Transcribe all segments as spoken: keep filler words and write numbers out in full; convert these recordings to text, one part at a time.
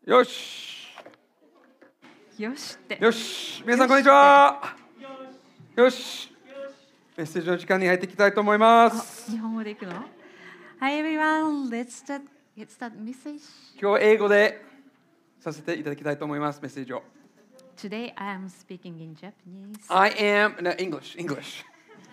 よしよしってよし皆さんこんにちは。よしメッセージの時間に入っていきたいと思いまあす。 日本語でいくの Hi everyone, let's start, get start message. 今日は英語でさせていただきたいと思います。メッセージを Today I am speaking in Japanese. I am no, English English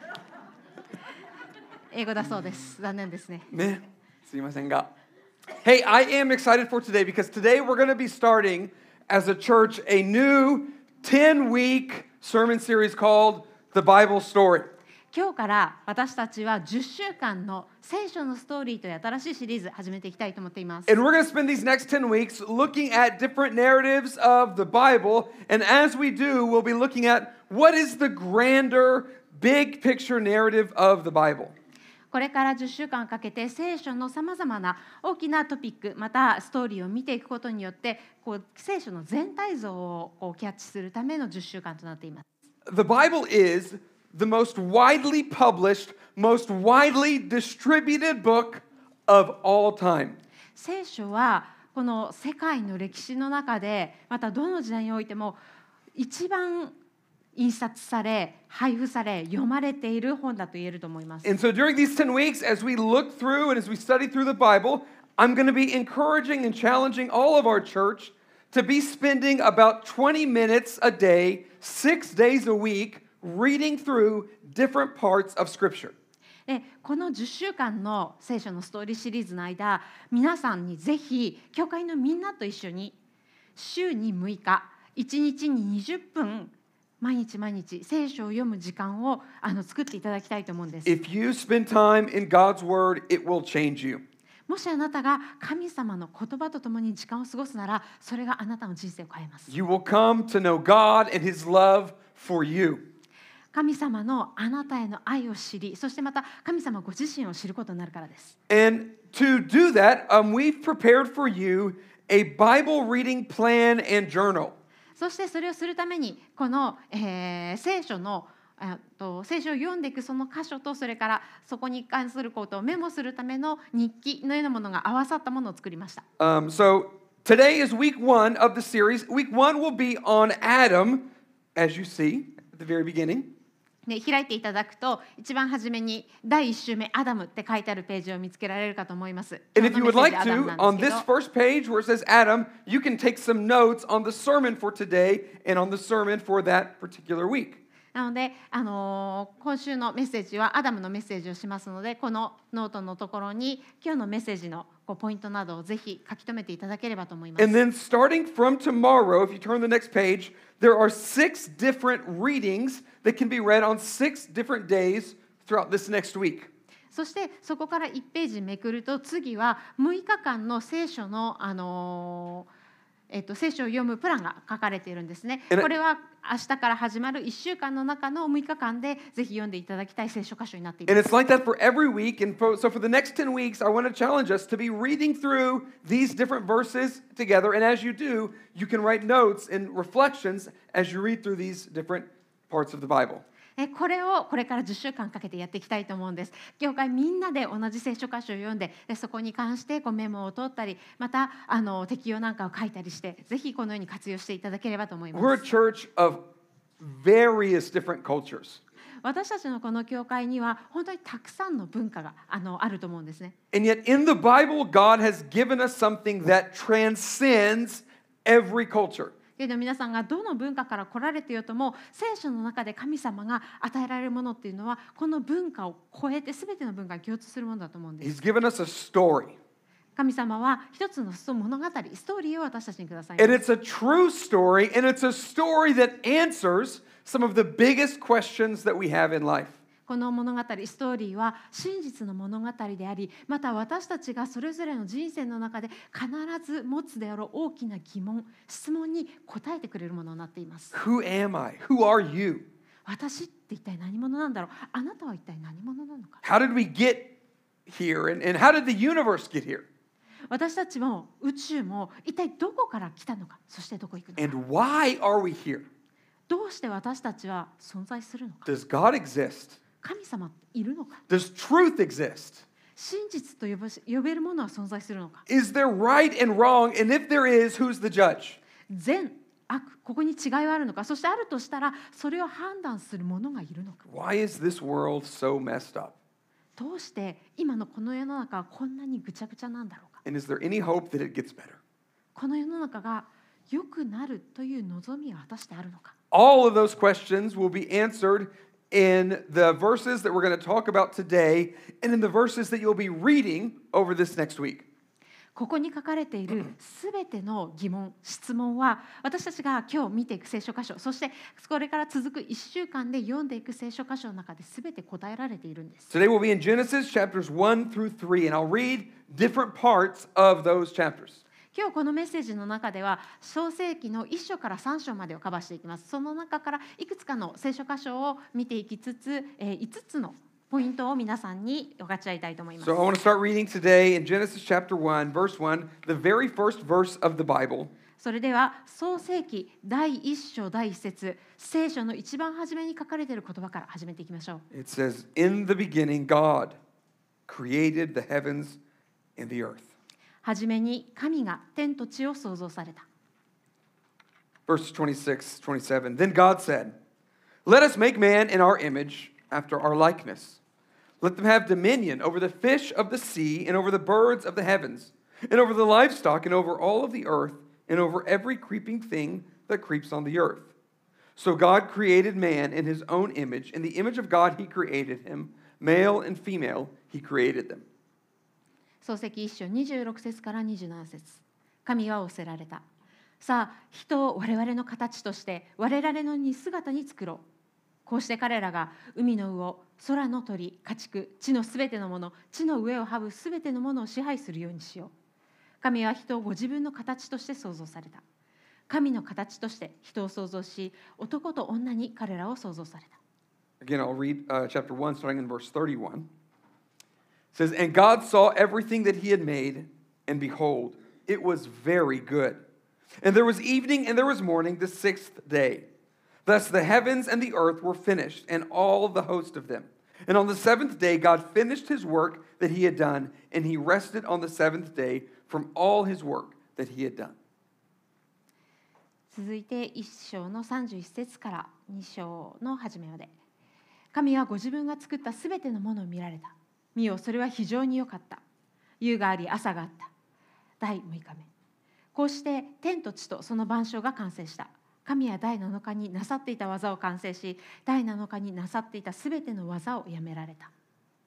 英語だそうです。残念ですね。 ねすいませんが Hey, I am excited for today because today we're going to be starting as a church a new ten-week sermon series called The Bible Story. 今日から私たちはじゅっしゅうかんの聖書のストーリーという新しいシリーズ始めていきたいと思っています。 And we're going to spend these next ten weeks looking at different narratives of the Bible. And as we do, we'll be looking at what is the grander, big picture narrative of the Bible. これからじゅっしゅうかんかけて聖書のさまざまな大きなトピックまたストーリーを見ていくことによってこう聖書の全体像をこうキャッチするためのじゅっしゅうかんとなっています。 The Bible is the most widely published, most widely distributed book of all time. 聖書はこの世界の歴史の中でまたどの時代においても一番印刷され配布され読まれている本だと言えると思います。 And so during these ten weeks, as we look through and as we study through the Bible, I'm going to be encouraging and challenging all of our church to be spending about twenty minutes a day, six days a week, reading through different parts of Scripture. でこのじゅっしゅうかんの聖書のストーリーシリーズの間皆さんにぜひ教会のみんなと一緒に週にむいかいちにちににじゅっぷん毎日毎日聖書を読む時間をあの作っていただきたいと思うんです。 If you spend time in God's Word, it will change you. もしあなたが神様の言葉とともに時間を過ごすならそれがあなたの人生を変えます。 You will come to know God and His love for you. 神様のあなたへの愛を知りそしてまた神様ご自身を知ることになるからです。 And to do that, um, we've prepared for you a Bible reading plan and journal. そしてそれをするためにこの、えー、聖書のあと聖書を読んでいくその箇所とそれからそこに関することをメモするための日記のようなものが合わさったものを作りました。 Um, so today is week one of the series. Week one will be on Adam, as you see at the very beginning. で開いていただくと一番初めにだいいち週目アダムって書いてあるページを見つけられるかと思います。 And if you would like 今日のメッセージ to, アダムなん on です this けど first page where it says Adam, you can take some notes on the sermon for today and on the sermon for that particular week. なので、あのー、今週のメッセージはアダムのメッセージをしますのでこのノートのところに今日のメッセージのこうポイントなどをぜひ書き留めていただければと思います。 And then starting from tomorrow, if you turn the next page, there are six different readings that can be read on six different days throughout this next week. そしてそこからいちページめくると次はむいかかんの聖書の、あのーえっと、聖書を読むプランが書かれているんですね。これは明日から始まるいっしゅうかんの中のむいかかんでぜひ読んでいただきたい聖書箇所になっていま And す。 it's like that for every week. And for, so for the next ten weeks, I want to challenge us to be reading through these different verses together. And as you do, you can write notes and reflections as you read through these different parts of the Bible. えこれをこれからじゅっしゅうかんかけてやっていきたいと思うんです。教会みんなで同じ聖書箇所を読んで、でそこに関してこうメモを取ったり、またあの適用なんかを書いたりして、ぜひこのように活用していただければと思いま We're a す。 church of various different cultures. 私たちのこの教会には本当にたくさんの文化があのあると思うんですね。 And yet in the Bible, God has given us something that transcends every culture. けれど皆さんがどの文化から来られてよとも聖書の中で神様が与えられるものっていうのはこの文化を超えて全ての文化に共通するものだと思うんです。 He's given us a story. 神様は一つの物語、ストーリーを私たちにくださいます。 And it's a true story, and it's a story that answers some of the biggest questions that we have in life. この物語、ストーリーは真実の物語であり、また私たちがそれぞれの人生の中で必ず持つであろう大きな疑問、質問に答えてくれるものになっています。 Who am I? Who are you? 私って一体何者なんだろう？あなたは一体何者なのか？ How did we get here? And, and how did the universe get here? 私たちも宇宙も一体どこから来たのか、そしてどこ行くのか。 And why are we here? どうして私たちは存在するのか？ Does God exist? 神様いるのか？ Does truth exist? 真実と呼ばし呼べるものは存在するのか。 Is there right and wrong? And if there is, who's the judge? 善悪、ここに違いはあるのか。そしてあるとしたらそれを判断する者がいるのか。 Why is this world so messed up? どうして今のこの世の中はこんなにぐちゃぐちゃなんだろうか。 And is there any hope that it gets better? この世の中が良くなるという望みは果たしてあるのか。 All of those questions will be answered in the verses that we're going to talk about today and in the verses that you'll be reading over this next week. ここに書かれているすべての疑問、質問は私たちが今日見ていく聖書箇所、そしてこれから続くいっしゅうかんで読んでいく聖書箇所の中ですべて答えられているんです。 Today we'll be in Genesis chapters one through three, and I'll read different parts of those chapters. 今日このメッセージの中では創世記のいっ章からさん章までをカバーしていきます。その中からいくつかの聖書箇所を見ていきつつ、えー、いつつのポイントを皆さんに分かち合いたいと思います。 So I want to start reading today in Genesis chapter one, verse one, the very first verse of the Bible. それでは創世記第一章第一節、聖書の一番初めに書かれている言葉から始めていきましょう。 It says, "In the beginning, God created the heavens and the earth." はじめに神が天と地を創造された。 Verse twenty-six, twenty-seven. Then God said, "Let us make man in our image, after our likeness. Let them have dominion over the fish of the sea, and over the birds of the heavens, and over the livestock, and over all of the earth, and over every creeping thing that creeps on the earth." So God created man in his own image. In the image of God he created him. Male and female he created them. 創世記一章にじゅうろく節からにじゅうなな節。神は仰せられた。さあ、人を我々の形として我々の似姿に作ろう。こうして彼らが海の魚、空の鳥、家畜、地のすべてのもの、地の上を這うすべてのものを支配するようにしよう。神は人をご自分の形として創造された。神の形として人を創造し、男と女に彼らを創造された。 Again, I'll read uh, chapter one, starting in verse thirty-one. It says, "And God saw everything that he had made, and behold, it was very good. And there was evening and there was morning the sixth day. Thus the heavens and the earth were finished, and all the host of them. And on the seventh day God finished his work that he had done, and he rested on the seventh day from all his work that he had done." 続いていっ章のさんじゅういち節からに章の初めまで。神はご自分が作ったすべてのものを見られた。見よ、それは非常に良かった。夕があり朝があった。だいむいかめ。こうして天と地とその万象が完成した。神はだいなのかになさっていた技を完成し、だいなのかになさっていたすべての技をやめられた。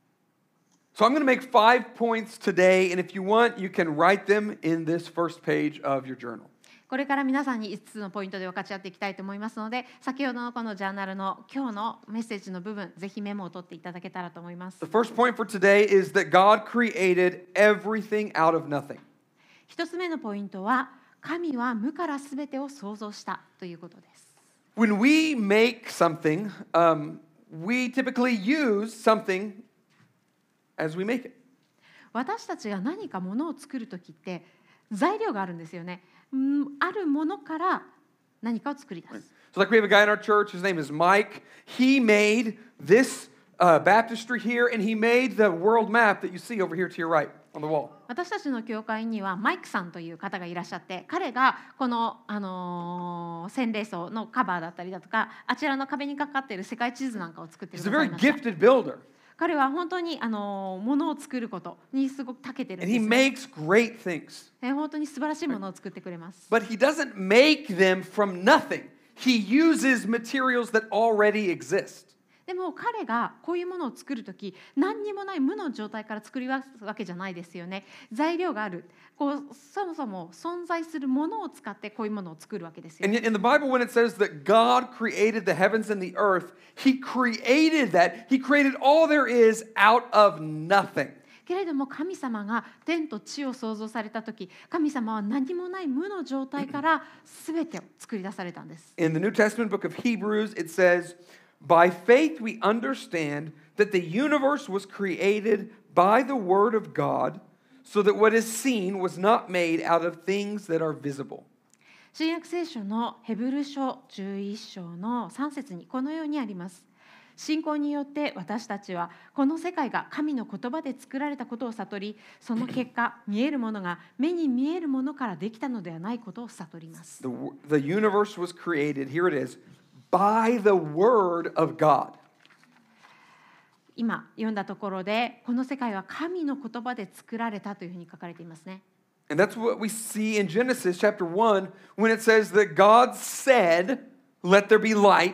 So I'm going to make five points today, and if you want, you can write them in this first page of your journal. これから皆さんにいつつのポイントで分かち合っていきたいと思いますので、先ほどのこのジャーナルの今日のメッセージの部分、ぜひメモを取っていただけたらと思います。 The first point for today is that God created everything out of nothing. 一つ目のポイントは、神は無からすべてを創造したということです。 When we make something, um, we typically use something as we make it. 私たちが何かものを作るときって材料があるんですよね。うんあるものから何かを作り出す。 So like we have a guy in our church, his name is Mike. He made this uh, baptistry here, and he made the world map that you see over here to your right on the wall. 私たちの教会にはマイクさんという方がいらっしゃって、彼がこの、あのー、洗礼槽のカバーだったりだとか、あちらの壁にかかっている世界地図なんかを作ってく He's だ a さい very ました。 gifted builder, 彼は本当に、あのー、ものを作ることにすごく長けてるん and で he す、ね。 makes great things. え本当に素晴らしいものを作ってくれます。 But he doesn't make them from nothing. He uses materials that already exist. でも彼がこういうものを作るとき、何にもない無の状態から作り出すわけじゃないですよね。材料がある。こうそもそも存在するものを使ってこういうものを作るわけですよ And yet in the Bible, when it says that God created the heavens and the earth, he created that. He created all there is out of nothing. けれども神様が天と地を創造されたとき、神様は何もない無の状態から全てを作り出されたんです。 In the New Testament book of Hebrews, it says, "By faith we understand that the universe was created by the word of God, so that what is seen was not made out of things that are visible." 新約聖書のヘブル書じゅういっ章のさん節にこのようにあります。 信仰によって私たちはこの世界が神の言葉で作られたことを悟り、その結果見えるものが目に見えるものからできたのではないことを悟ります。 The, the universe was created, here it is, by the word of God. 今読んだところで、この世界は神の言葉で作られたというふうに書かれていますね。 And that's what we see in Genesis chapter one when it says that God said, "Let there be light,"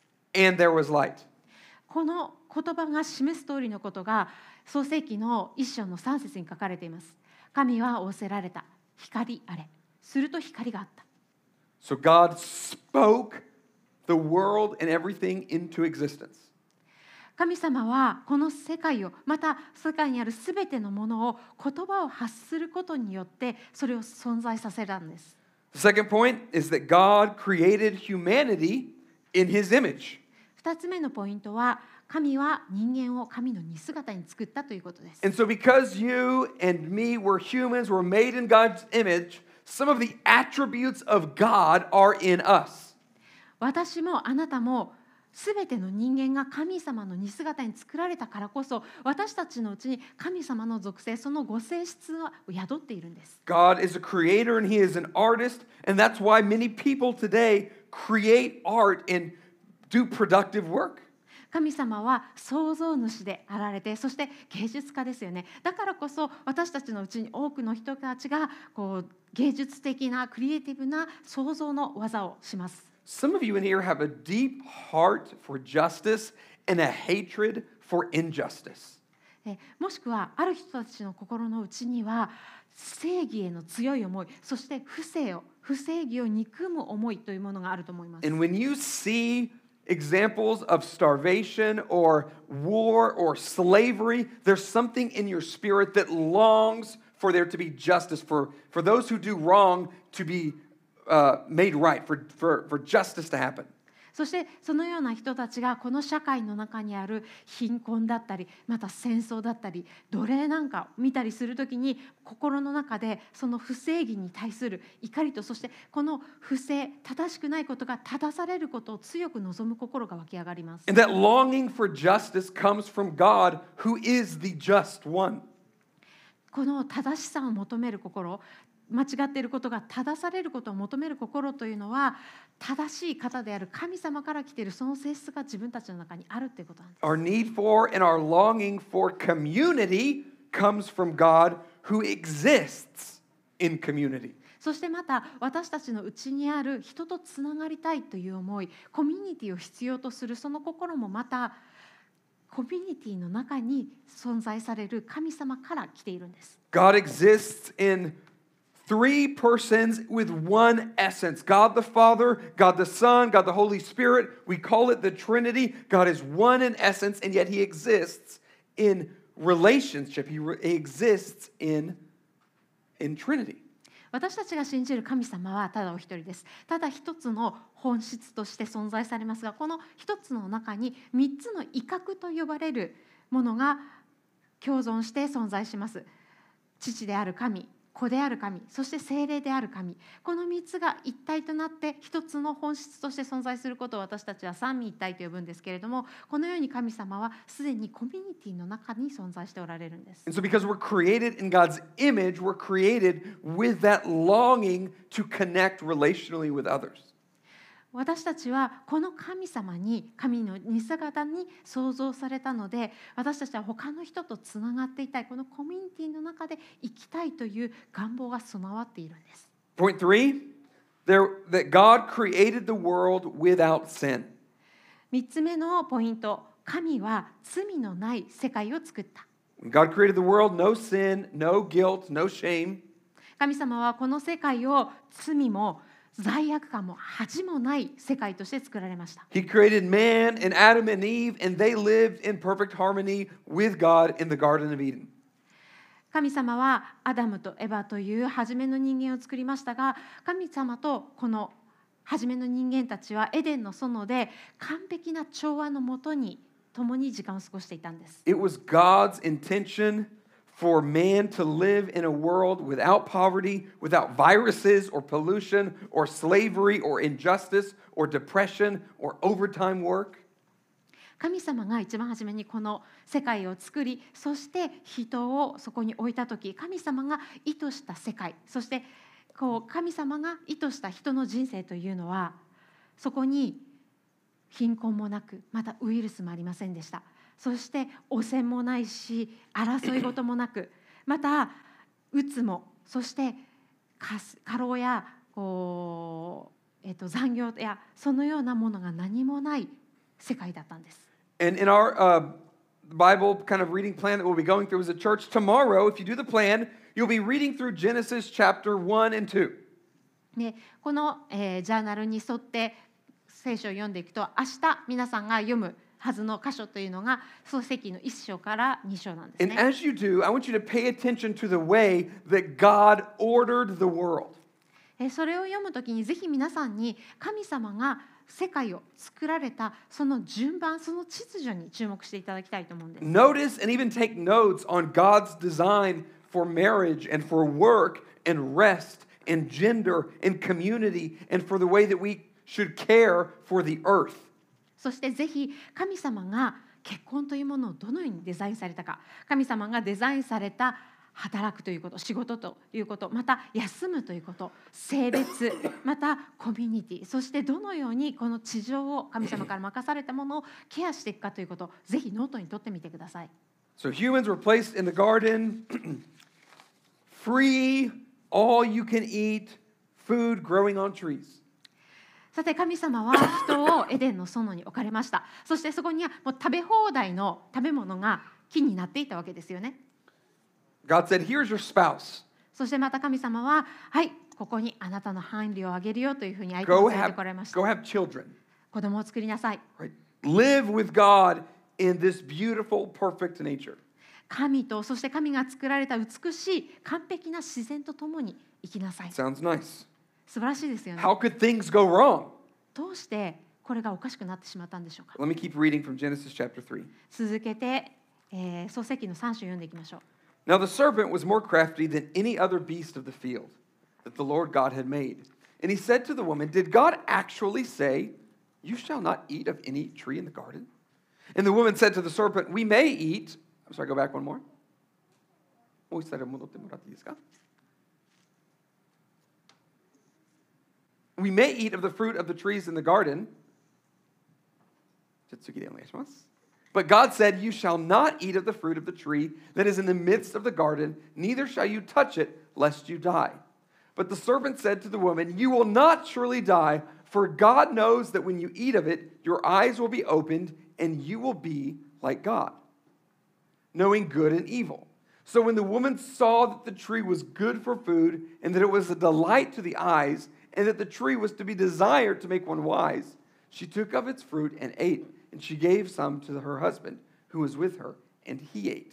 and there was light. この言葉が示す通りのことが創世記の一章の三節に書かれています。神は仰せられた。光あれ。すると光があった。 So God spoke the world and everything into existence. 神様はこの世界を、また世界にあるすべてのものを言葉を発することによってそれを存在させたんです。 The second point is that God created humanity in his image. 二つ目のポイントは、神は人間を神の似姿に作ったということです。 And so because you and me were humans, were made in God's image, some of the attributes of God are in us. 私もあなたもすべての人間が神様の似姿に作られたからこそ、私たちのうちに神様の属性、そのご性質は宿っているんです。 God is a creator and he is an artist, and that's why many people today create art and do productive work. 神様は創造主であられて、そして芸術家ですよね。だからこそ私たちのうちに多くの人たちがこう芸術的なクリエイティブな創造の技をします。 Some of you in here have a deep heart for justice and a hatred for injustice. もしくはある人たちの心の内には正義への強い思い、そして不正を不正義を憎む思いというものがあると思います。 And when you see examples of starvation or war or slavery, there's something in your spirit that longs for there to be justice, for, for those who do wrong to be uh, made right, for, for, for justice to happen. そしてそのような人たちがこの社会の中にある貧困だったり、また戦争だったり奴隷なんかを見たりするときに、心の中でその不正義に対する怒りと、そしてこの不正正しくないことが正されることを強く望む心が湧き上がります。 And that longing for justice comes from God, who is the just one. この正しさを求める心、間違っていることが正されることを求める心というのは、正しい方である神様から来ているその性質が自分たちの中にあるということなんです。 Our need for and our longing for community comes from God, who exists in community. そしてまた私たちのうちにある人とつながりたいという思い、コミュニティを必要とするその心もまたコミュニティの中に存在される神様から来ているんです。 God exists in three persons with one essence. God the Father, God the Son, God the Holy Spirit. We call it the Trinity. God is one in essence, and yet he exists in relationship. He, re- he exists in, in Trinity. 私たちが信じる神様はただお一人です。ただ一つの本質として存在されますが、この一つの中に三つの威嚇と呼ばれるものが共存して存在します。父である神、子である神、そして聖霊である神、このみっつが一体となって一つの本質として存在することを私たちは三位一体と呼ぶんですけれども、このように神様はすでにコミュニティの中に存在しておられるんです。 And so because we're created in God's image, we're created with that longing to connect relationally with others. 私たちはこの神様に、神の似姿に創造されたので、私たちは他の人とつながっていたい、このコミュニティの中で生きたいという願望が備わっているんです。 Point three, there, that God created the world without sin. 三つ目のポイント、神は罪のない世界を作った。 When God created the world, no sin, no guilt, no shame. 神様はこの世界を罪も罪悪感も恥もない世界として作られました。 He created man and Adam and Eve, and they lived in perfect harmony with God in the Garden of Eden. 神様はアダムとエバという初めの人間を作りましたが、神様とこの初めの人間たちはエデンの園で完璧な調和のもとに共に時間を過ごしていたんです。 It was God's intention for man to live in a world without poverty, without viruses or pollution or slavery or injustice or depression or overtime work. 神様が一番初めにこの世界を作り、そして人をそこに置いた時、神様が意図した世界、そしてこう神様が意図した人の人生というのは、そこに貧困もなく、またウイルスもありませんでした。そして汚染もないし、争い事もなく、またうつも、そして過労やこう、えっと、残業やそのようなものが何もない世界だったんです。 And in our uh, Bible kind of reading plan that we'll be going through as a church tomorrow, if you do the plan, you'll be reading through Genesis chapter one and two. でこの、えー、ジャーナルに沿って聖書を読んでいくと、明日皆さんが読むはずの箇所というのが創世記のいっ章からに章なんですね。 And as you do, I want you to pay attention to the way that God ordered the world. それを読むときにぜひ皆さんに神様が世界を作られたその順番、その秩序に注目していただきたいと思うんです。 Notice and even take notes on God's design for marriage and for work and rest and gender and community and for the way that we should care for the earth. そしてぜひ神様が結婚というものをどのようにデザインされたか、神様がデザインされた働くということ、仕事ということ、また休むということ、性別、またコミュニティ、そしてどのようにこの地上を神様から任されたものをケアしていくかということをぜひノートに取ってみてください。 So humans were placed in the garden, free, all you can eat, food growing on trees. さて神様は人をエデンの園に置かれました。そしてそこにはもう食べ放題の食べ物が木になっていたわけですよね。 God said, here's your spouse. そしてまた神様は、はい、ここにあなたの伴侶をあげるよというふうに相手 Go を連れて have, こられました。 go have children. 子供を作りなさい。 Right? Live with God in this beautiful, perfect nature. 神と、そして神が作られた美しい完璧な自然とともに生きなさい。 Sounds nice. 素晴らしいですよね。 How could things go wrong? どうしてこれがおかしくなってしまったんでしょうか。 Let me keep reading from Genesis chapter three. 続けて、えー、創世記のさん章読んでいきましょう。 Now the serpent was more crafty than any other beast of the field that the Lord God had made. And he said to the woman, Did God actually say, You shall not eat of any tree in the garden? And the woman said to the serpent, We may eat. I'm sorry, go back one more. もう一度戻ってもらっていいですか? We may eat of the fruit of the trees in the garden. じゃあ次でお願いします。But God said, You shall not eat of the fruit of the tree that is in the midst of the garden, neither shall you touch it, lest you die. But the serpent said to the woman, You will not surely die, for God knows that when you eat of it, your eyes will be opened, and you will be like God, knowing good and evil. So when the woman saw that the tree was good for food, and that it was a delight to the eyes, and that the tree was to be desired to make one wise, she took of its fruit and ate. And she gave some to her husband who was with her, and he ate.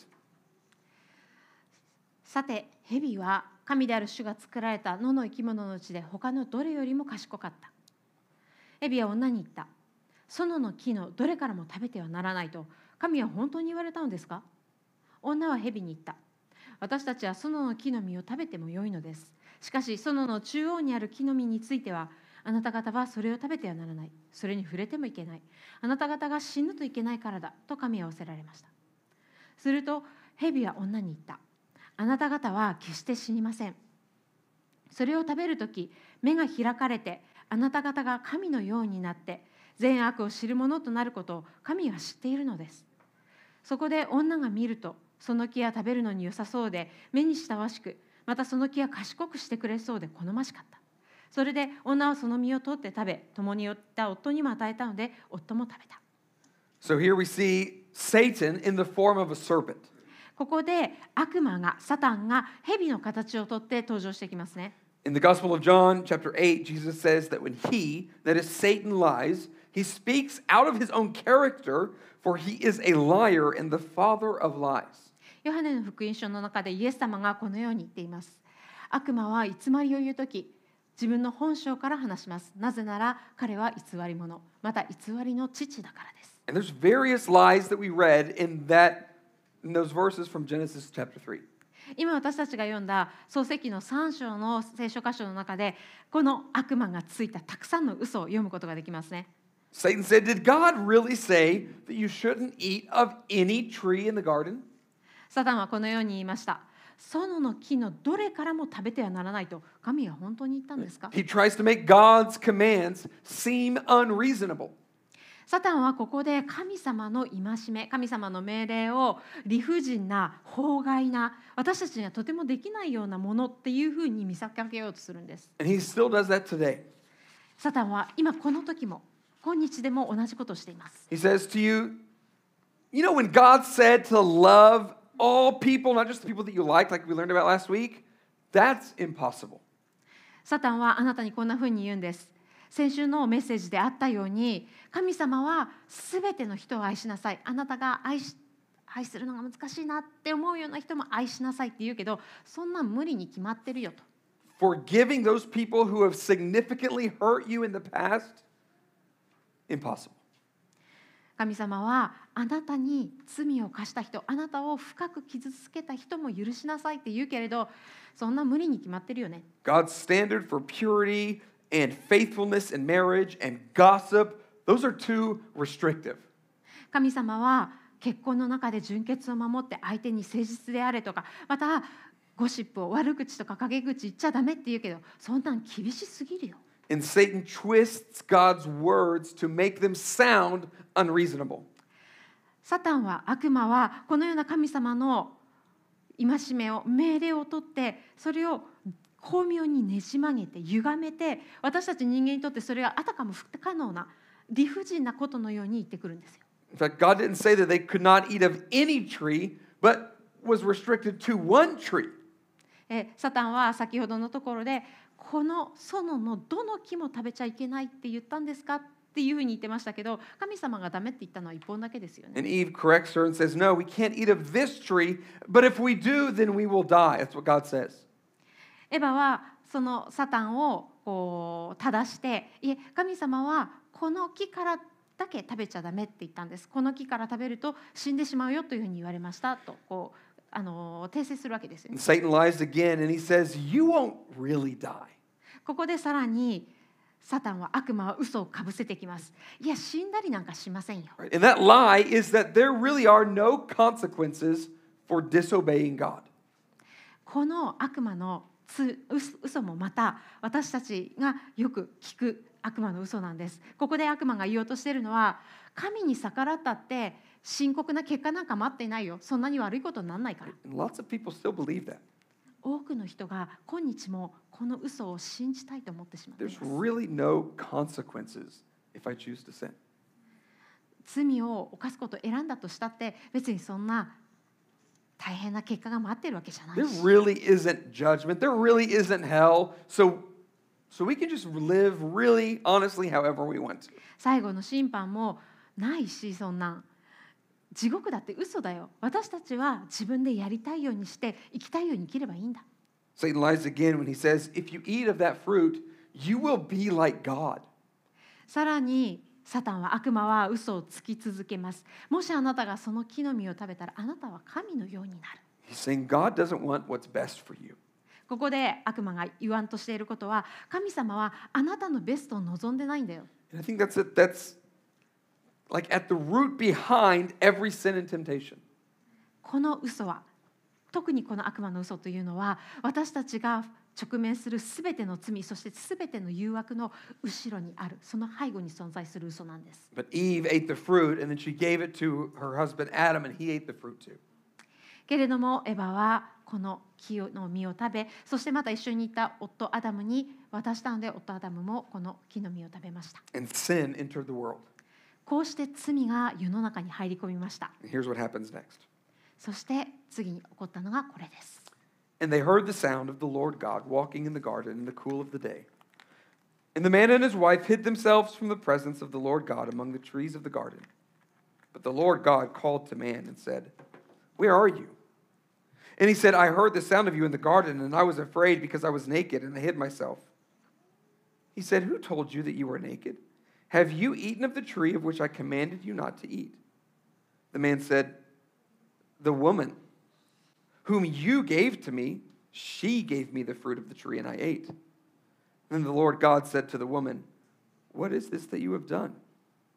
さて、蛇は神である主が作られた野の生き物のうちで他のどれよりも賢かった。蛇は女に言った。園の木のどれからも食べてはならないと神は本当に言われたのですか？女は蛇に言った。私たちは園の木の実を食べてもよいのです。しかし園の中央にある木の実についてはあなた方はそれを食べてはならない。それに触れてもいけない。あなた方が死ぬといけないからだ。と神は仰せられました。すると、蛇は女に言った。あなた方は決して死にません。それを食べるとき、目が開かれて、あなた方が神のようになって、善悪を知るものとなることを神は知っているのです。そこで女が見ると、その木は食べるのに良さそうで、目に親しく、またその木は賢くしてくれそうで好ましかった。それで女はその実を取って食べ、共に寄った夫にも与えたので、夫も食べた。 So here we see Satan in the form of a serpent. ここで悪魔が、サタンが蛇の形をとって登場してきますね。 In the Gospel of John, chapter eight, Jesus says that when he, that is Satan, lies, he speaks out of his own character, for he is a liar and the father of lies. ヨハネの福音書の中でイエス様がこのように言っています。悪魔は偽りを言うとき、自分の本性から話します。なぜなら彼は偽り者、また偽りの父だからです。 And there's various lies that we read in that in those verses from Genesis chapter three. 今私たちが読んだ創世記のさん章の聖書箇所の中でこの悪魔がついたたくさんの嘘を読むことができますね。 Satan said, Did God really say that you shouldn't eat of any tree in the garden? サタンはこのように言いました。園の木のどれからも食べてはならないと神は本当に言ったんですか？ He tries to make God's commands seem unreasonable. サタンはここで神様の戒め、神様の命令を理不尽な、法外な、私たちにはとてもできないようなものっていうふうに見せかけようとするんです。 And he still does that today. サタンは今この時も、今日でも同じことをしています。 He says to you, you know, when God said to love all people, not just the people that you like, like we learned about last week, that's impossible. サタンはあなたにこんなふうに言うんです。先週のメッセージであったように、神様はすべての人を愛しなさい。あなたが愛し、愛するのが難しいなって思うような人も愛しなさいって言うけど、そんな無理に決まってるよと。 Forgiving those people who have significantly hurt you in the past, impossible. 神様はあなたに罪を犯した人、あなたを深く傷つけた人も許しなさいって言うけれど、そんな無理に決まってるよね。 God's standard for purity and faithfulness in marriage and gossip, those are too restrictive. 神様は結婚の中で純潔を守って相手に誠実であれとか、またゴシップを悪口とか陰口言っちゃダメって言うけど、そんなん厳しすぎるよ。 And Satan twists God's words to make them sound unreasonable. サタンは、悪魔はこのような神様の戒めを、命令を取って、それを巧妙にねじ曲げて歪めて、私たち人間にとってそれがあたかも不可能な理不尽なことのように言ってくるんですよ。 In fact, God didn't say that they could not eat of any tree, but was restricted to one tree. えサタンは先ほどのところで、この園のどの木も食べちゃいけないって言ったんですかっていうふうに言ってましたけど、神様がダメって言ったのは一本だけですよね。 And Eve corrects her and says, No, we can't eat of this tree, but if we do, then we will die. That's what God says. エバはそのサタンをこう正して、いえ、神様はこの木からだけ食べちゃダメって言ったんです。この木から食べると死んでしまうよというふうに言われましたと、こうあの訂正するわけですよね。 And Satan lies again and he says, You won't really die. ここでさらにサタンは、悪魔は嘘をかぶせてきます。いや、死んだりなんかしませんよ。 And that lie is that there really are no consequences for disobeying God. この悪魔のつ嘘もまた私たちがよく聞く悪魔の嘘なんです。ここで悪魔が言おうとしているのは、神に逆らったって深刻な結果なんか待っていないよ。そんなに悪いことにならないから。 And lots of people still believe that. 多くの人が今日もこの嘘を信じたいと思ってしまってい There's ます。 really no consequences if I choose to sin. 罪を犯すことを選んだとしたって別にそんな大変な結果が待ってるわけじゃない There し。 really isn't judgment. There really isn't hell. So, so we can just live really honestly however we want to. 最後の審判もないし、そんな地獄だって嘘だよ。私たちは自分でやりたいようにして生きたいように生きればいいんだ。 Satan lies again when he says, if you eat of that fruit, you will be like God. さらにサタンは、悪魔は嘘をつき続けます。もしあなたがその木の実を食べたら、あなたは神のようになる。 He's saying God doesn't want what's best for you. ここで悪魔が言わんとしていることは、神様はあなたのベストを望んでないんだよ。 And I think that's it. That's like at the root behind every sin and temptation. この嘘は、特にこの悪魔の嘘というのは、私たちが直面するすべての罪、そしてすべての誘惑の後ろにある、その背後に存在する嘘なんです。 But Eve ate the fruit, and then she gave it to her husband Adam, and he ate the fruit too. けれどもエバはこの木の実を食べ、そしてまた一緒にいた夫アダムに渡したので、夫アダムもこの木の実を食べました。 And sin entered the world. こうして罪が世の中に入り込みました。 And here's what happens next. そして次に起こったのがこれです。 And they heard the sound of the Lord God walking in the garden in the cool of the day. And the man and his wife hid themselves from the presence of the Lord God among the trees of the garden. But the Lord God called to man and said, Where are you? And he said, I heard the sound of you in the garden, and I was afraid because I was naked, and I hid myself. He said, Who told you that you were naked? Have you eaten of the tree of which I commanded you not to eat? The man said, The woman whom you gave to me, she gave me the fruit of the tree, and I ate. Then the Lord God said to the woman, What is this that you have done?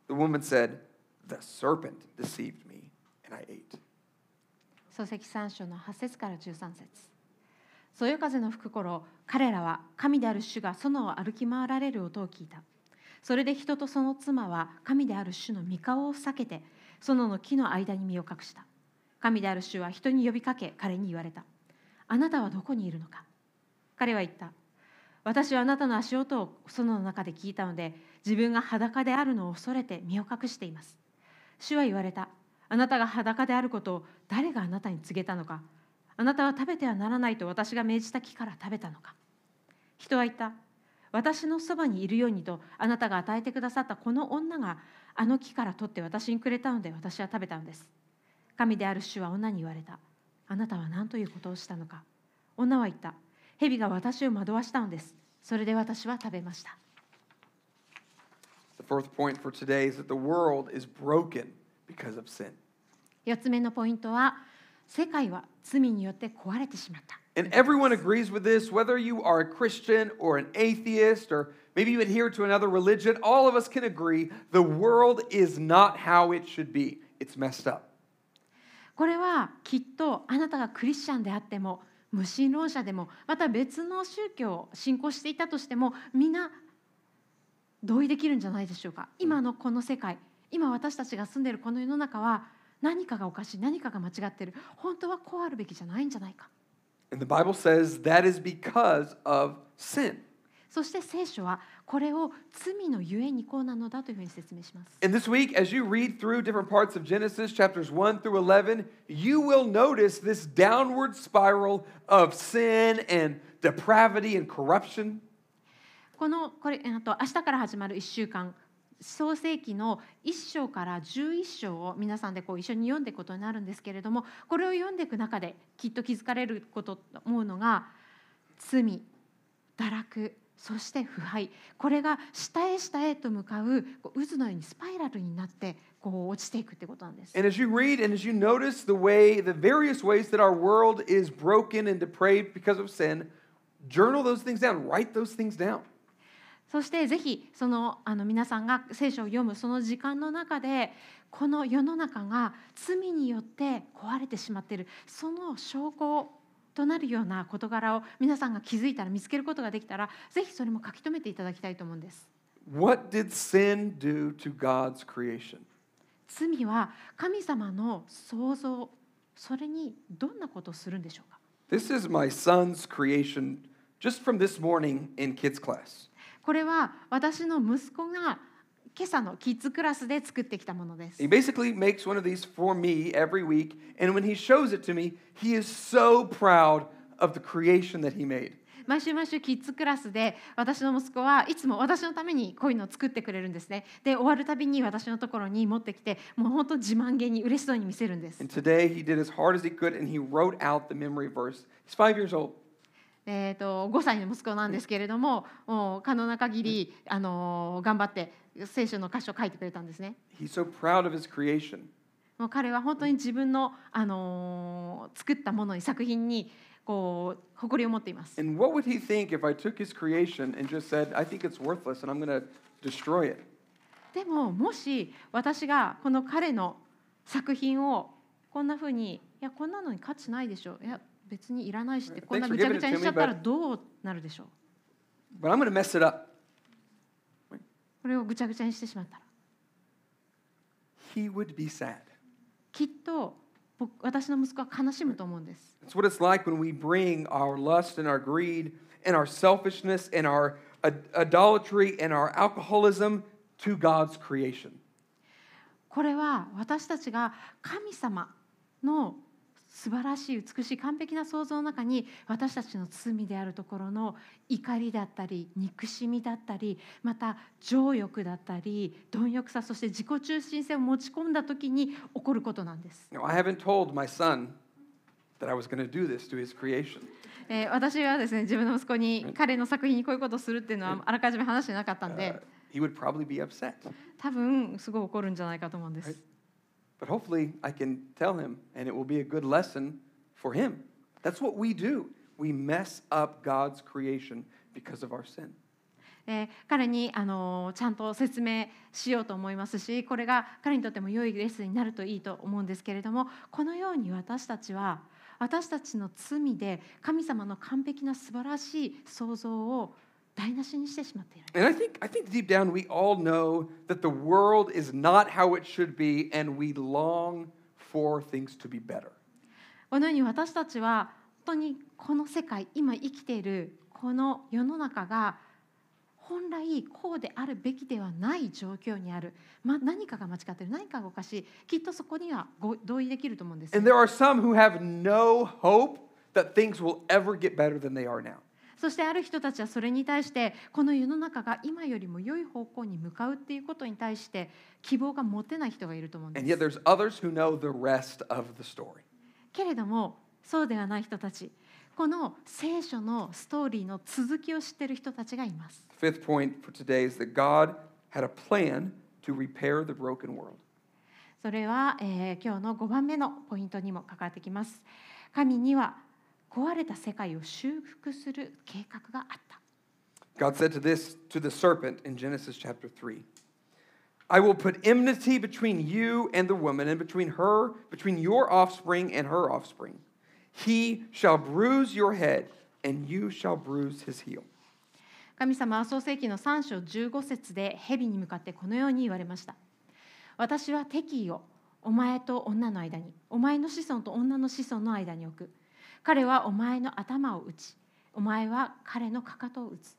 The woman said, "The serpent deceived me, and I ate." 創世記さん章のはち節からじゅうさん節。そよ風の吹く頃、彼らは神である主が園を歩き回られる音を聞いた。それで人とその妻は神である主の御顔を避けて、園の木の間に身を隠した。神である主は人に呼びかけ、彼に言われた。あなたはどこにいるのか。彼は言った。私はあなたの足音を園の中で聞いたので、自分が裸であるのを恐れて身を隠しています。主は言われた。あなたが裸であることを誰があなたに告げたのか。あなたは食べてはならないと私が命じた木から食べたのか。人は言った。私のそばにいるようにとあなたが与えてくださったこの女があの木から取って私にくれたので私は食べたのです。神である主は女に言われた。あなたは何ということをしたのか。女は言った。蛇が私を惑わしたのです。それで私は食べました。 The fourth point for today is that the world is broken because of sin. 四つ目のポイントは、世界は罪によって壊れてしまった。 And everyone agrees with this, whether you are a Christian or an atheist or maybe you adhere to another religion, all of us can agree the world is not how it should be. It's messed up. これはきっとあなたがクリスチャンであっても、無神論者でも、また別の宗教を信仰していたとしても、みんな同意できるんじゃないでしょうか。今のこの世界、今私たちが住んでいるこの世の中は何かがおかしい、何かが間違っている、本当はこうあるべきじゃないんじゃないか。 And the Bible says that is because of sin. そして聖書はこれを罪のゆえにこうなのだというふうに説明します。 And this week, as you read through different parts of Genesis, chapters one through eleven, you will notice this downward spiral of sin and depravity and corruption. このこれあと明日から始まるいっしゅうかん、創世記のいっ章からじゅういっ章を皆さんでこう一緒に読んでいくことになるんですけれども、これを読んでいく中できっと気づかれることと思うのが、罪、堕落、そして腐敗、これが下へ下へと向かう渦のようにスパイラルになってこう落ちていくってことなんです。 And as you read and as you notice the way, the various ways that our world is broken and depraved because of sin, journal those things down, write those things down. そしてぜひそのあの皆さんが聖書を読むその時間の中で、この世の中が罪によって壊れてしまっている、その証拠となるような事柄を皆さんが気づいたら、見つけることができたら、ぜひそれも書き留めていただきたいと思うんです。 What did sin do to God's creation? 罪は神様の創造、それにどんなことをするんでしょうか。 This is my son's creation just from this morning in kids class. これは私の息子が今朝のキッズクラスで作ってきたものです。 He basically makes one of these for me every week, and when he shows it to me, he is so proud of the creation that he made. 毎週毎週キッズクラスで私の息子はいつも私のためにこういうのを作ってくれるんですね。で、終わるたびに私のところに持ってきて、もう本当自慢げに嬉しそうに見せるんです。 And today he did as hard as he could, and he wrote out the memory verse. He's five years old. えー、とごさいの息子なんですけれども、もう可能な限り、あのー頑張って聖書の箇所を書いてくれたんですね。 He's so proud of his creation. もう彼は本当に自分の、あのー作ったものに、作品にこう誇りを持っています。 And what would he think if I took his creation and just said, I think it's worthless and I'm going to destroy it? でももし私がこの彼の作品をこんなふうに、いやこんなのに価値ないでしょ、いや別にいらないしってこんなぐちゃぐちゃにしちゃったらどうなるでしょう。 But I'm going to mess it up. これをぐちゃぐちゃにしてしまったら He would be sad. きっと僕私の息子は悲しむと思うんです。 It's what it's like when we bring our lust and our greed and our selfishness and our ad- idolatry and our alcoholism to God's creation. これは私たちが神様の素晴らしい美しい完璧な創造の中に、私たちの罪であるところの怒りだったり憎しみだったり、また情欲だったり貪欲さ、そして自己中心性を持ち込んだ時に起こることなんです。 Now, I haven't told my son that I was going to do this to his creation. えー私はですね、自分の息子に彼の作品にこういうことをするっていうのはあらかじめ話してなかったん Uh, で、 he would probably be upset. 多分すごい怒るんじゃないかと思うんです。 But hopefully I can tell him and it will be a good lesson for him. That's what we do. We mess up God's creation because of our sin. えー彼に、あのーちゃんと説明しようと思いますし、これが彼にとっても良いレッスンになるといいと思うんですけれども、このように私たちは私たちの罪で神様の完璧な素晴らしい創造を台無しにしてしまっている。 And I think, I think deep down we all know that the world is not how it should be, and we long for things to be better. このように私たちは本当にこの世界、今生きているこの世の中が本来こうであるべきではない状況にある、ま、何かが間違っている、何かがおかしい、きっとそこにはご同意できると思うんです。 And there are some who have no hope that things will ever get better than they are now. そしてある人たちはそれに対してこの世の中が今よりも良い方向に向かうっていうことに対して希望が持てない人がいると思うんで And yet す。 there's others who know the rest of the story. けれどもそうではない人たち、この聖書のストーリーの続きを知っている人たちがいます。 Fifth point for today is that God had a plan to repair the broken world. それは、えー今日のごばんめのポイントにも関わってきます。神には壊れた世界を修復する計画があった。 God said to this to the serpent in Genesis chapter three, I will put enmity between you and the woman, and between her, between your offspring and her offspring. He shall bruise your head, and you shall bruise his heel. 神様は創世記のさん章じゅうご節で蛇に向かってこのように言われました。私は敵意をお前と女の間に、お前の子孫と女の子孫の間に置く。彼はお前の頭を打ち、お前は彼のかかとを打つ。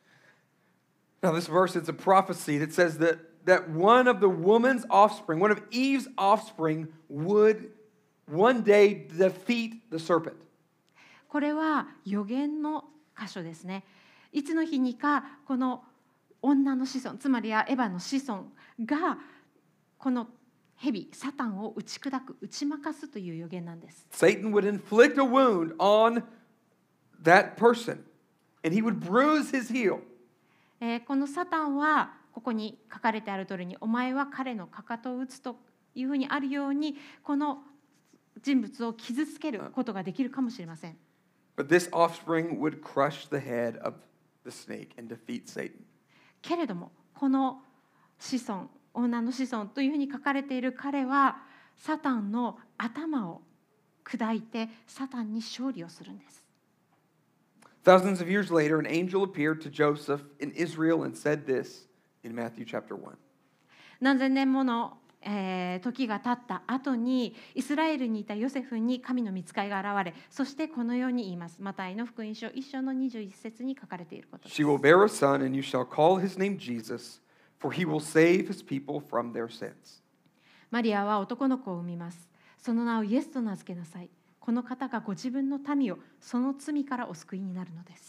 Now, this verse is a prophecy that says that, that one of the woman's offspring, one of Eve's offspring, would one day defeat the serpent. これは預言の箇所ですね。いつの日にかこの女の子孫、つまりはエヴァの子孫がこの蛇、サタンを打ち砕く、打ち負かすという預言なんです。 Satan would inflict a wound on that person, and he would bruise his heel. えーこのサタンはここに書かれてある通りに、お前は彼のかかとを打つというふうにあるように、この人物を傷つけることができるかもしれません。 But this offspring would crush the head of the snake and defeat Satan. けれどもこの子孫、女の子孫というふうに書かれている彼はサタンの頭を砕いてサタンに勝利をするんです。 Thousands of years later, an angel appeared to Joseph in Israel and said this in Matthew chapter one. 何千年もの、えー時が経った後にイスラエルにいたヨセフに神の御使いが現れ、そしてこのように言います。マタイの福音書いっ章のにじゅういち節に書かれていることです。 She will bear a son, and you shall call his name Jesus, for he will save his people from their sins. マリアは男の子を産みます。その名をイエスと名付けなさい。この方がご自分の民をその罪からお救いになるのです。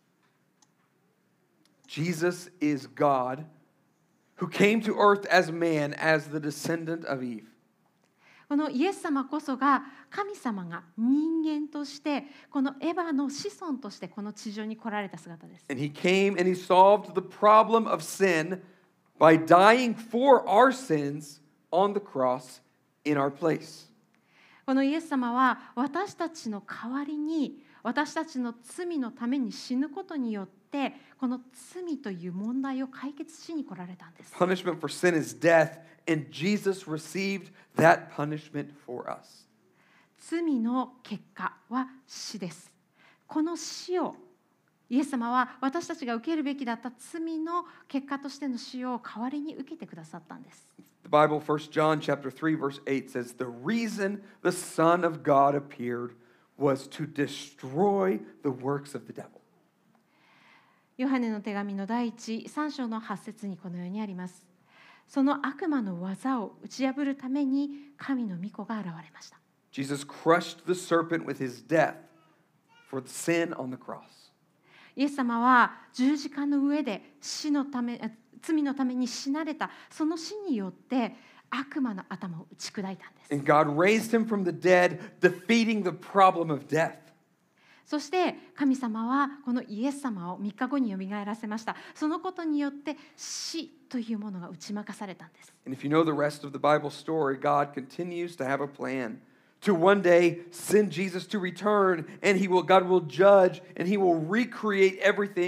Jesus is God who came to earth as man, as the descendant of Eve. このイエス様こそが神様が人間としてこのエヴァの子孫としてこの地上に来られた姿です。 And he came and he solved the problem of sin by dying for our sins on the cross in our place. このイエス様は私たちの代わりに私たちの罪のために死ぬことによってこの罪という問題を解決しに来られたんです。 Punishment for sin is death, and Jesus received that punishment for us. 罪の結果は死です。この死をイエス様は私たちが受けるべきだった罪の結果としての死を代わりに受けてくださったんです。 The Bible, First John chapter three, verse eight says, the reason the Son of God appeared was to destroy the works of the devil. ヨハネの手紙の第一さん章のはち節にこのようにあります。その悪魔の技を打ち破るために神の御子が現れました。 Jesus crushed the serpent with his death for the sin on the cross. イエス様は十字架の上で死のため、罪のために死なれたその死によって悪魔の頭を打ち砕いたんです。 And God raised him from the dead, defeating the problem of death. そして神様はこのイエス様をみっかごによみがえらせました。そのことによって死というものが打ち負かされたんです。 And if you know the rest of the Bible story, God continues to have a plan to one day send Jesus to return, and he will, God will judge, and he will recreate everything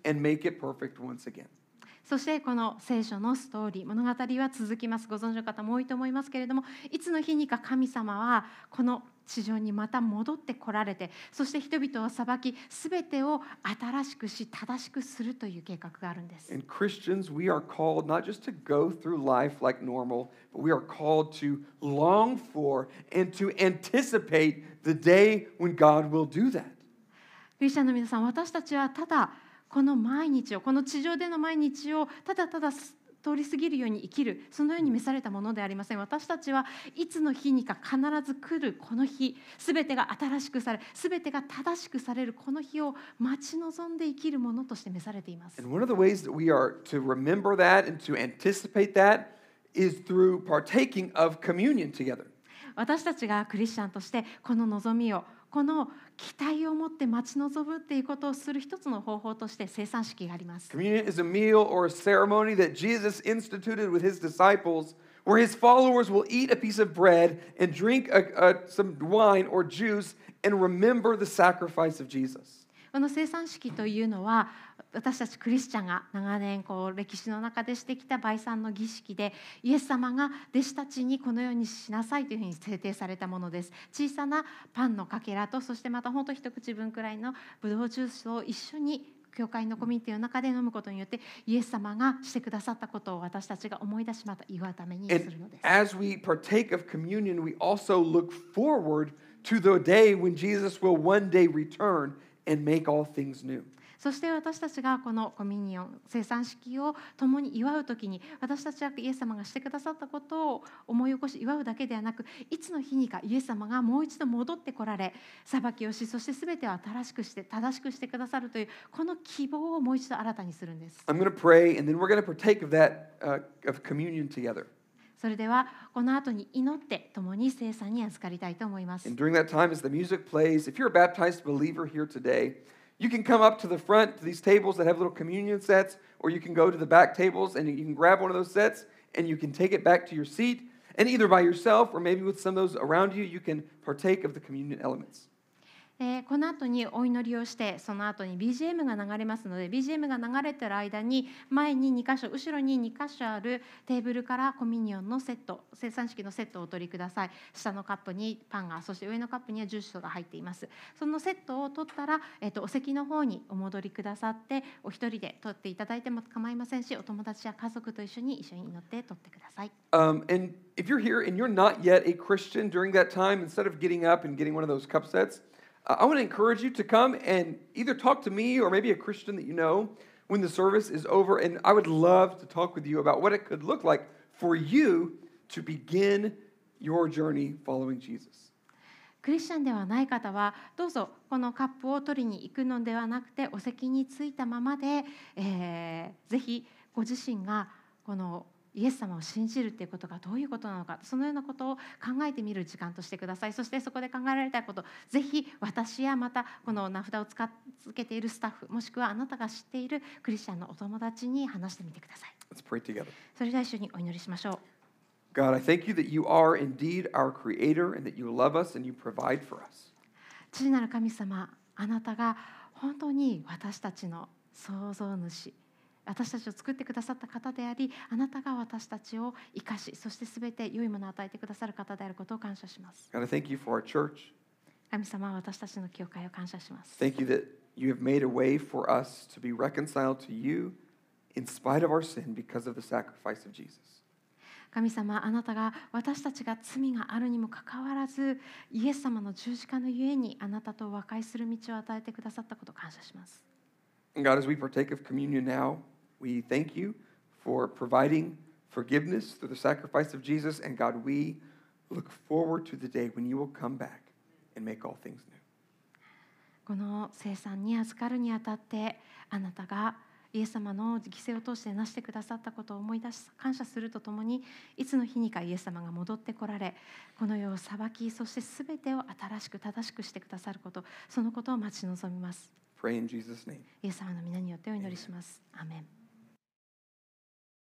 and make it perfect once again. そしてこの聖書のストーリー物語は続きます。ご存知の方も多いと思いますけれども、いつの日にか神様はこの地上にまた戻ってこられて、そして人々を裁き、すべてを新しくし正しくするという計画があるんです。 And Christians, we are called not just to go through life like normal, but we are called to long for and to anticipate the day when God will do that. クリスチャンの皆さん、私たちはただこの毎日を、この地上での毎日をただただ通り過ぎるように生きる、そのように召されたものではありません。私たちはいつの日にか必ず来るこの日、すべてが新しくされ、すべてが正しくされるこの日を待ち望んで生きるものとして召されています。 And one of the ways that we are to remember that and to anticipate that is through partaking of communion together. 私たちがクリスチャンとしてこの望みを、この期待を持って待ち望むっていうことをする一つの方法として聖餐式があります。 Communion is a meal or a ceremony that Jesus instituted with his disciples, where his followers will eat a piece of bread and drink a, a, some wine or juice and remember the sacrifice of Jesus. この聖餐式というのは、私たちクリスチャンが長年こう歴史の中でしてきた拜餐の儀式で、イエス様が弟子たちにこのようにしなさいというふうに制定されたものです。小さなパンのかけらと、そしてまた本当一口分くらいのブドウジュースを一緒に教会のコミュニティの中で飲むことによって、イエス様がしてくださったことを私たちが思い出し、また祝うためにするのです。 And as we partake of communion, we also look forward to the day when Jesus will one day return and make all things new. そして私たちがこのコミュニオン、聖餐式を共に祝うときに、私たちはイエス様がしてくださったことを思い起こし祝うだけではなく、いつの日にかイエス様がもう一度戻ってこられ、裁きをし、そしてすべてを新しくして正しくしてくださるというこの希望をもう一度新たにするんです。 I'm going to pray, and then we're going to partake of that uh, of communion together. それではこの後に祈って共に聖餐に預かりたいと思います。 And during that time, as the music plays, if you're a baptized believer here today, you can come up to the front to these tables that have little communion sets, or you can go to the back tables and you can grab one of those sets and you can take it back to your seat. And either by yourself or maybe with some of those around you, you can partake of the communion elements. えー、この後にお祈りをして、その後に ビージーエム が流れますので、 ビージーエム が流れている間に前にに箇所、後ろにに箇所あるテーブルからコミュニオンのセット、聖餐式のセットをお取りください。下のカップにパンが、そして上のカップにはジュースが入っています。そのセットを取ったら、えー、とお席の方にお戻りくださって、お一人で取っていただいても構いませんし、お友達や家族と一緒に一緒に祈って取ってください。 Um, and if you're here and you're not yet a Christian during that time, instead of getting up and getting one of those cup sets, uh, I want to encourage you to come and either talk to me or maybe a Christian that you know when the service is over. And I would love to talk with you about what it could look like for you to begin your journey following Jesus. クリスチャンではない方はどうぞこのカップを取りに行くのではなくて、お席に着いたままで、えー、ぜひご自身がこのイエス様を信じるということがどういうことなのか、そのようなことを考えてみる時間としてください。そしてそこで考えられたこと、ぜひ私やまたこの名札を使い続けているスタッフ、もしくはあなたが知っているクリスチャンのお友達に話してみてください。 Let's pray together. それでは一緒にお祈りしましょう。 God, I thank you that you are indeed our creator and that you love us and you provide for us. 父なる神様、あなたが本当に私たちの創造主、私たちを作ってくださった方であり、あなたが私たちを生かし、そしてすべて良いものを与えてくださる方であることを感謝します。 God, I thank you for our church. 神様は私たちの教会を感謝します。 Thank you that you have made a way for us to be reconciled to you in spite of our sin because of the sacrifice of Jesus. 神様、あなたが私たちが罪があるにもかかわらず、イエス様の十字架のゆえにあなたと和解する道を与えてくださったことを感謝します。 And God, as we partake of communion now, we thank you for providing forgiveness through the sacrifice of Jesus. And God, we look forward to the day when you will come back and make all things new. この聖餐に預かるにあたって、あなたがイエス様の犠牲を通してなしてくださったことを思い出し感謝するとともに、いつの日にかイエス様が戻ってこられ、この世を裁き、そしてすべてを新しく正しくしてくださること、そのことを待ち望みます。 Pray in Jesus' name. イエス様の皆によってお祈りします。アーメン。